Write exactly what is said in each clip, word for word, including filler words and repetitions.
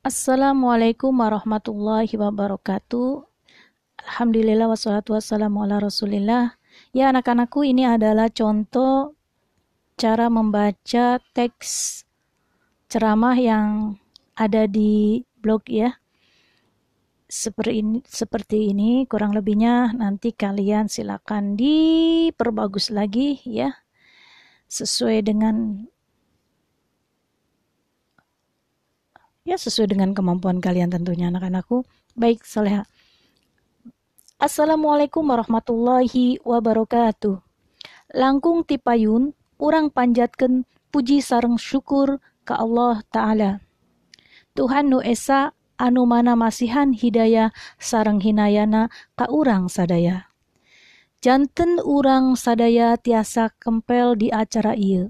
Assalamualaikum warahmatullahi wabarakatuh. Alhamdulillah wassalatu wassalamu ala rasulillah. Ya anak-anakku, ini adalah contoh cara membaca teks ceramah yang ada di blog ya. Seperti ini, seperti ini kurang lebihnya, nanti kalian silakan diperbagus lagi ya. Sesuai dengan ya sesuai dengan kemampuan kalian tentunya anak-anakku. Baik, Soleha. Assalamualaikum warahmatullahi wabarakatuh. Langkung tipayun, urang panjatkeun puji sareng syukur ka Allah Ta'ala. Tuhan nu esa anu mana masihan hidayah sareng hinayana ka urang sadaya. Janten urang sadaya tiasa kempel di acara ieu.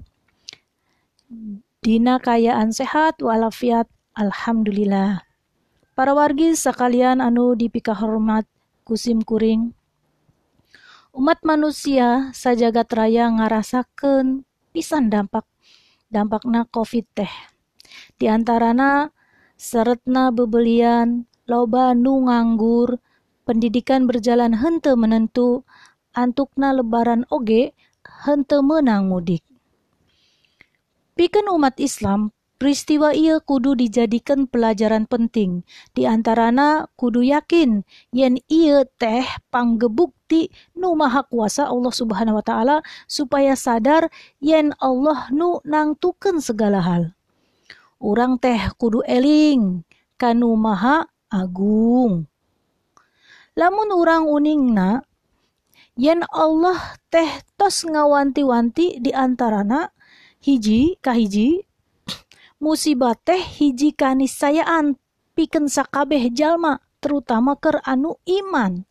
Dina kayaan sehat walafiat, alhamdulillah. Para wargi sekalian anu dipikahormat kusim kuring, umat manusia sajagat raya ngarasakeun pisan dampak dampakna COVID teh. Di antarana saretna bebelian, loba nu nganggur, pendidikan berjalan henteu menentu, antukna lebaran oge henteu meunang mudik. Pikeun umat Islam, peristiwa ieu kudu dijadikan pelajaran penting. Di antarana kudu yakin yen ieu teh panggebukti nu maha kuasa Allah Subhanahu wa taala supaya sadar yen Allah nu nangtukeun segala hal. Urang teh kudu eling kanu maha agung. Lamun urang uningna yen Allah teh tos ngawanti-wanti di antarana hiji kahiji musibah teh hiji kaniscayaan pikeun sakabeh jalma, terutama keur anu iman.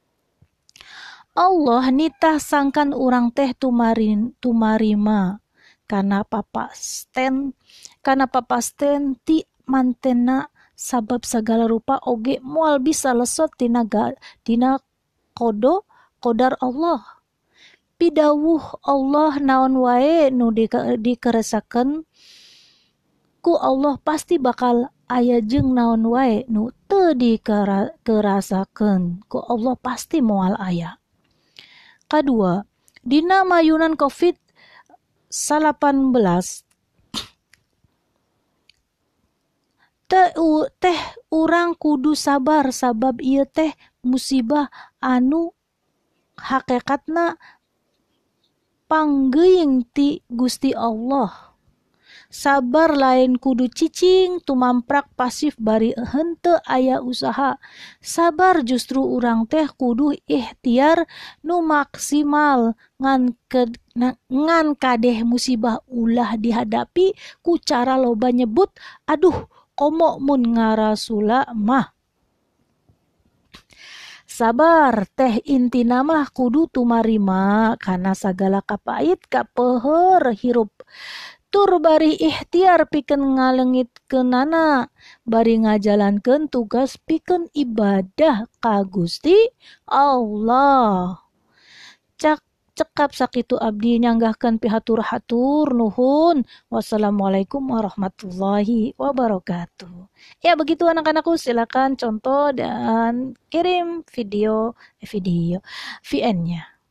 Allah nitah sangkan urang teh tumarin tumarima kana papasten kana papasten ti mantena sabab segala rupa oge moal bisa lesot tina dina kodo kodar Allah. Pidawuh Allah naon wae nu dikeresakeun ku Allah pasti bakal aya jeung naon wae nu teu dikerasakeun ku Allah pasti moal aya. Kadua, dina mayunan COVID delapan belas teh teh urang kudu sabar sabab ieu teh musibah anu hakikatna panggeuing ti Gusti Allah. Sabar lain kudu cicing tumamprak pasif bari henteu aya usaha. Sabar justru urang teh kudu ikhtiar nu maksimal ngan ke, ngan kadeh musibah ulah dihadapi ku cara loba nyebut aduh komo mun ngarasula mah. Sabar teh intina mah kudu tumarima kana sagala kapait kapeuheur hirup. Tur bari ikhtiar pikeun ngaleungitkeunana, bari ngajalankeun tugas pikeun ibadah ka Gusti Allah. Cak cekap sakitu abdi nyanggahkeun pihatur-hatur nuhun. Wassalamualaikum warahmatullahi wabarakatuh. Ya begitu anak-anakku, silakan contoh dan kirim video video V N-nya.